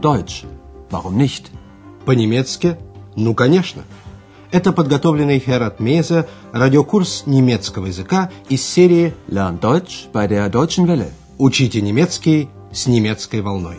Deutsch. Warum nicht? По-немецки? Ну, конечно. Это подготовленный Херат Мейзе радиокурс немецкого языка из серии Lern Deutsch bei der Deutschen Welle. «Учите немецкий с немецкой волной».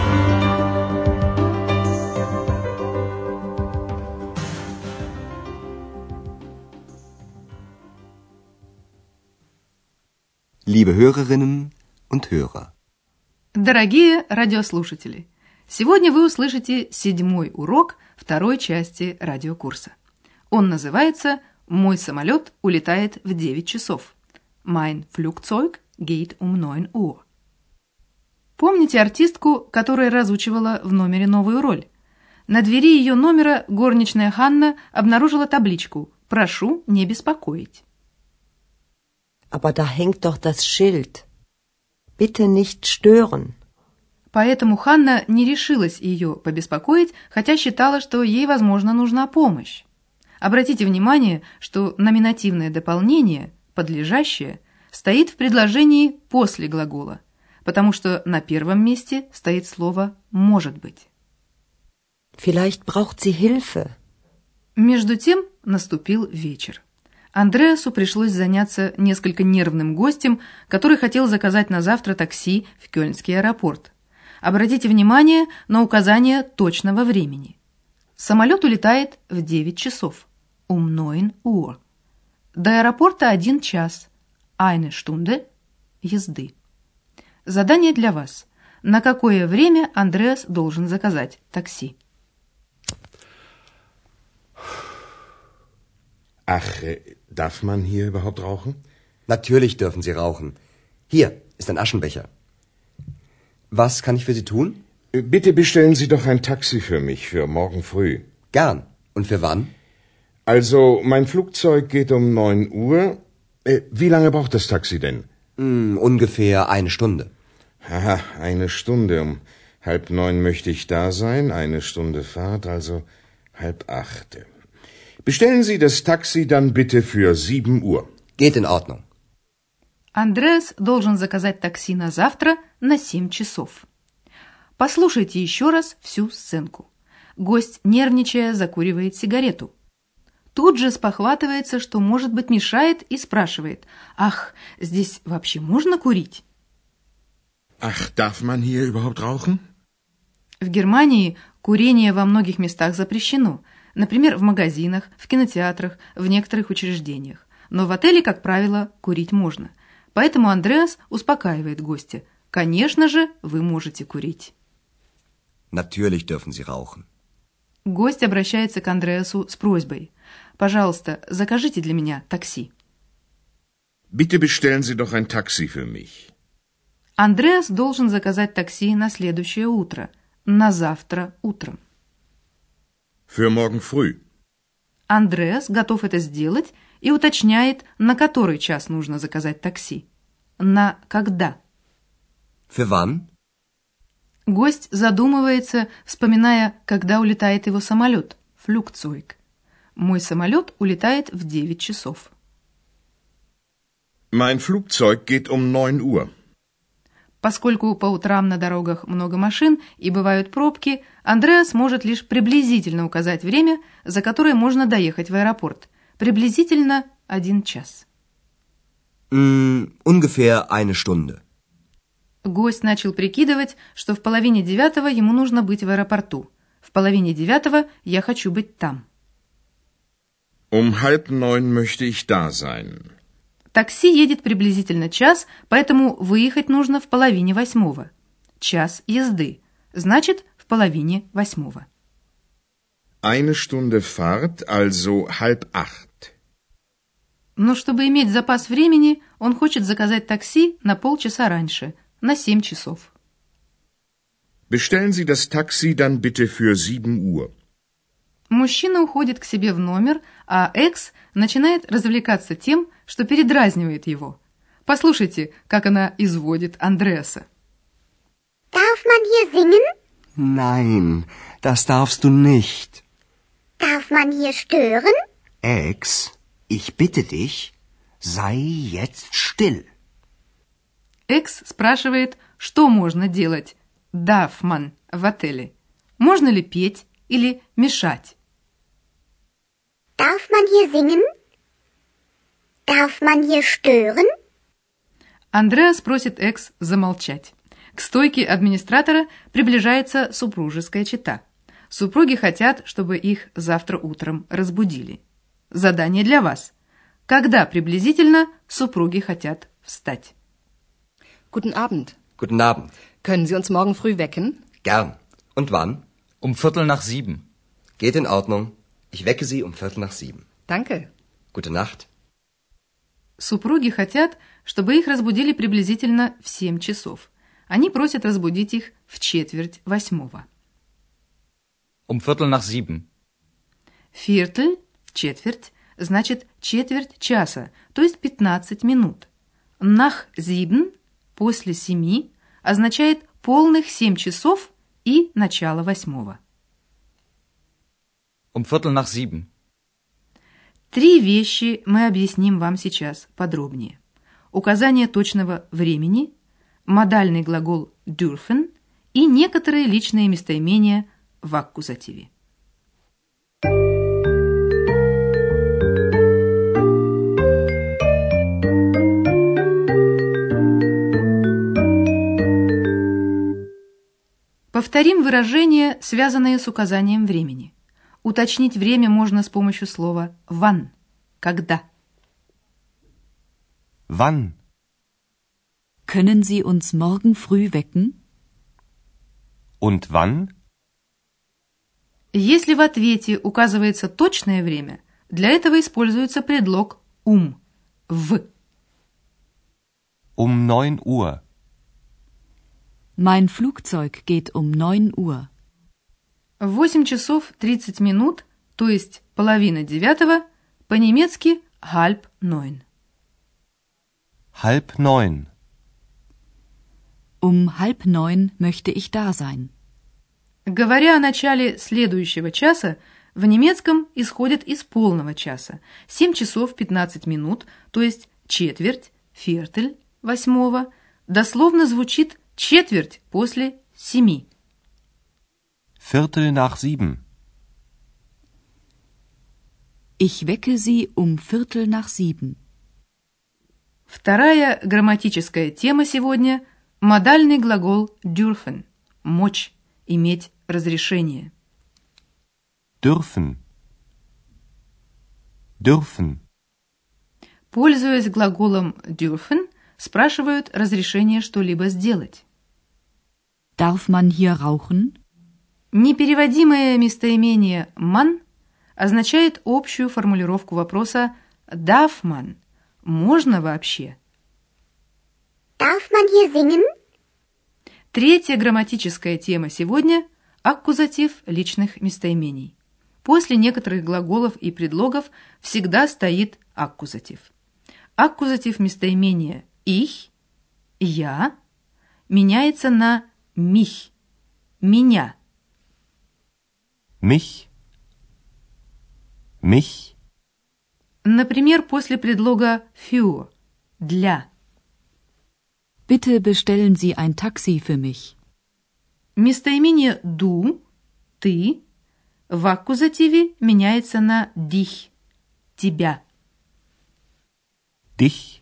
Liebe Hörerinnen und Hörer. Дорогие радиослушатели, сегодня вы услышите 7-й урок второй части радиокурса. Он называется «Мой самолет улетает в 9 часов». Mein Flugzeug geht um 9 Uhr. Помните артистку, которая разучивала в номере новую роль? На двери ее номера горничная Ханна обнаружила табличку «Прошу не беспокоить». Aber da hängt doch das Schild. Bitte nicht stören. Поэтому Ханна не решилась ее побеспокоить, хотя считала, что ей, возможно, нужна помощь. Обратите внимание, что номинативное дополнение, подлежащее, стоит в предложении после глагола, потому что на первом месте стоит слово «может быть». Vielleicht braucht sie Hilfe. Между тем наступил вечер. Андреасу пришлось заняться несколько нервным гостем, который хотел заказать на завтра такси в Кёльнский аэропорт. Обратите внимание на указание точного времени. Самолет улетает в 9 часов. Um 9 Uhr. До аэропорта 1 час. Eine Stunde езды. Задание для вас. На какое время Андреас должен заказать такси? Ach, darf man hier überhaupt rauchen? Natürlich dürfen Sie rauchen. Hier ist ein Aschenbecher. Was kann ich für Sie tun? Bitte bestellen Sie doch ein Taxi für mich für morgen früh. Gern. Und für wann? Also, mein Flugzeug geht um 9 Uhr. Wie lange braucht das Taxi denn? Ungefähr 1 Stunde. Haha, 1 Stunde. Um 7:30 möchte ich da sein. 1 Stunde Fahrt, also 7:30. Bestellen Sie das Taxi dann bitte für 7 Uhr. Geht in Ordnung. Андреас должен заказать такси на завтра на 7 часов. Послушайте еще раз всю сценку. Гость, нервничая, закуривает сигарету. Тут же спохватывается, что, может быть, мешает, и спрашивает: «Ах, здесь вообще можно курить?» Ach, darf man hier überhaupt rauchen? В Германии курение во многих местах запрещено. Например, в магазинах, в кинотеатрах, в некоторых учреждениях. Но в отеле, как правило, курить можно. Поэтому Андреас успокаивает гостя. Конечно же, вы можете курить. Natürlich dürfen Sie rauchen. Гость обращается к Андреасу с просьбой. Пожалуйста, закажите для меня такси. Bitte bestellen Sie doch ein Taxi für mich. Андреас должен заказать такси на следующее утро, на завтра утром. Für morgen früh. Андреас готов это сделать и уточняет, на который час нужно заказать такси. На когда? Für wann? Гость задумывается, вспоминая, когда улетает его самолет. Flugzeug. Мой самолет улетает в 9 часов. Mein Flugzeug geht um 9 Uhr. Поскольку по утрам на дорогах много машин и бывают пробки, Андреас может лишь приблизительно указать время, за которое можно доехать в аэропорт. Приблизительно 1 час. Ungefähr 1 Stunde. Гость начал прикидывать, что в 8:30 ему нужно быть в аэропорту. В 8:30 я хочу быть там. Um 8:30 möchte ich da sein. Такси едет приблизительно час, поэтому выехать нужно в 7:30. Час езды. Значит, в 7:30. 1 Stunde Fahrt, also 7:30. Но чтобы иметь запас времени, он хочет заказать такси на полчаса раньше, на 7 часов. Bestellen Sie das Taxi dann bitte für 7 Uhr. Мужчина уходит к себе в номер, а Экс начинает развлекаться тем, что передразнивает его. Послушайте, как она изводит Андреаса. Darf man hier singen? Nein, das darfst du nicht. Darf man hier stören? Ex, ich bitte dich, sei jetzt still. Экс спрашивает, что можно делать, darf man, в отеле. Можно ли петь или мешать? Darf man hier singen? Darf man hier stören? Андреас просит Экс замолчать. К стойке администратора приближается супружеская чета. Супруги хотят, чтобы их завтра утром разбудили. Задание для вас. Когда приблизительно супруги хотят встать? Guten Abend. Guten Abend. Können Sie uns morgen früh wecken? Gern. Und wann? 6:15. Geht in Ordnung. Ich wecke Sie 6:45. Danke. Gute Nacht. Супруги хотят, чтобы их разбудили приблизительно в 7 часов. Они просят разбудить их в 7:45. 6:15. Viertel, четверть, значит четверть часа, то есть 15 минут. Nach 7, после 7, означает полных 7 часов и начало 8. 6:15. 3 вещи мы объясним вам сейчас подробнее. Указание точного времени, модальный глагол dürfen и некоторые личные местоимения в аккузативе. Повторим выражения, связанные с указанием времени. Уточнить время можно с помощью слова wann – когда. Wann? Können Sie uns morgen früh wecken? Und wann? Если в ответе указывается точное время, для этого используется предлог в. 9 Uhr. Mein Flugzeug geht 9 Uhr. В 8 часов 30 минут, то есть половина 9, по-немецки halb 9. 8:30. 8:30 möchte ich da sein. Говоря о начале следующего часа, в немецком исходят из полного часа. 7 часов 15 минут, то есть четверть, viertel, 8, дословно звучит четверть после 7. 7:15. Ich wecke Sie 7:15. Вторая грамматическая тема сегодня – модальный глагол dürfen – мочь, иметь разрешение. Dürfen. Dürfen. Пользуясь глаголом dürfen, спрашивают разрешение что-либо сделать. Darf man hier rauchen? Непереводимое местоимение man означает общую формулировку вопроса darf man – можно вообще? Darf man hier singen? Третья грамматическая тема сегодня – аккузатив личных местоимений. После некоторых глаголов и предлогов всегда стоит аккузатив. Аккузатив местоимения ich – я меняется на mich – меня. Mich. Mich. Например, после предлога für – для. Bitte bestellen Sie ein Taxi für mich. Местоимение du – ты в аккузативе меняется на dich – тебя. Dich.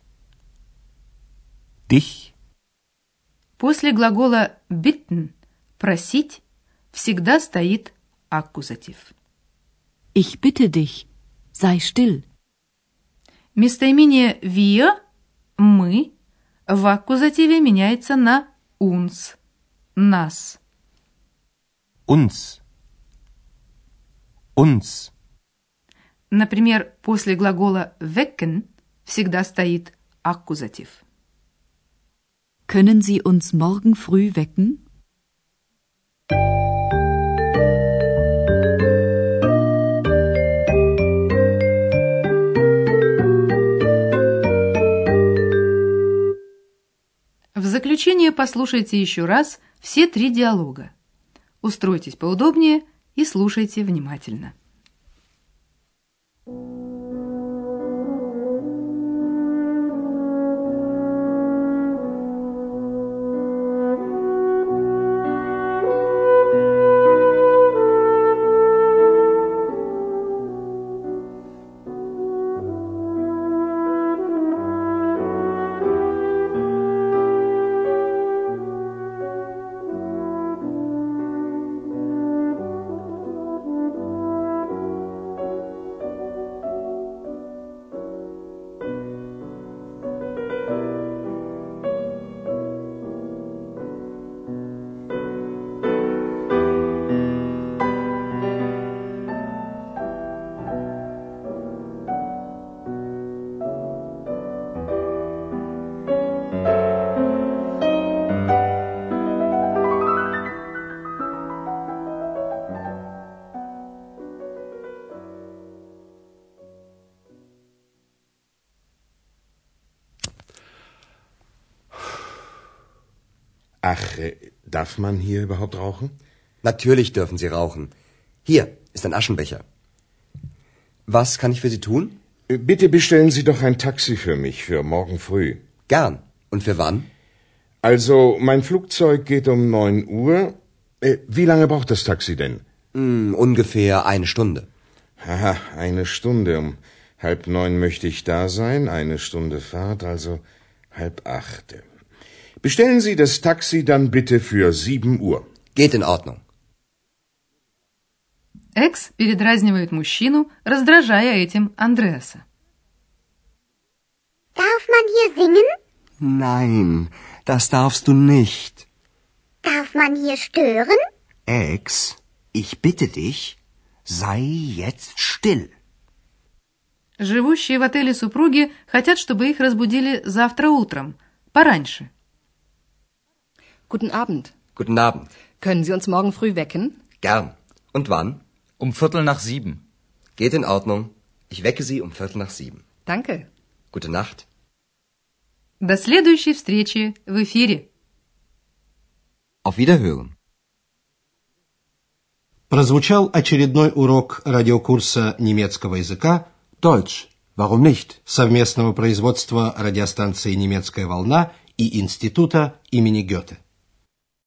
Dich. После глагола bitten – просить всегда стоит аккузатив. Ich bitte dich, sei still. Местоимение wir – мы в аккузативе меняется на uns – нас. Uns. Uns. Например, после глагола wecken всегда стоит аккузатив. Können Sie uns morgen früh wecken? В заключение послушайте еще раз все 3 диалога. Устройтесь поудобнее и слушайте внимательно. Ach, darf man hier überhaupt rauchen? Natürlich dürfen Sie rauchen. Hier ist ein Aschenbecher. Was kann ich für Sie tun? Bitte bestellen Sie doch ein Taxi für mich für morgen früh. Gern. Und für wann? Also, mein Flugzeug geht um 9 Uhr. Wie lange braucht das Taxi denn? Ungefähr 1 Stunde. Haha, 1 Stunde. Um 7:30 möchte ich da sein. 1 Stunde Fahrt, also 7:30. Bestellen Sie das Taxi dann bitte für 7 Uhr. Geht in Ordnung. Экс передразнивает мужчину, раздражая этим Андреаса. Darf man hier singen? Nein, das darfst du nicht. Darf man hier stören? Ex, ich bitte dich, sei jetzt still. Живущие в отеле супруги хотят, чтобы их разбудили завтра утром, пораньше. Guten Abend. Guten Abend. Können Sie uns morgen früh wecken? Gern. Und wann? Um 6:45. Geht in Ordnung. Ich wecke Sie um 6:45. Danke. Gute Nacht. До следующей встречи в эфире. Auf Wiederhören. Прозвучал очередной урок радиокурса немецкого языка Deutsch, warum nicht? совместного производства радиостанции «Немецкая волна» и Института имени Гёте.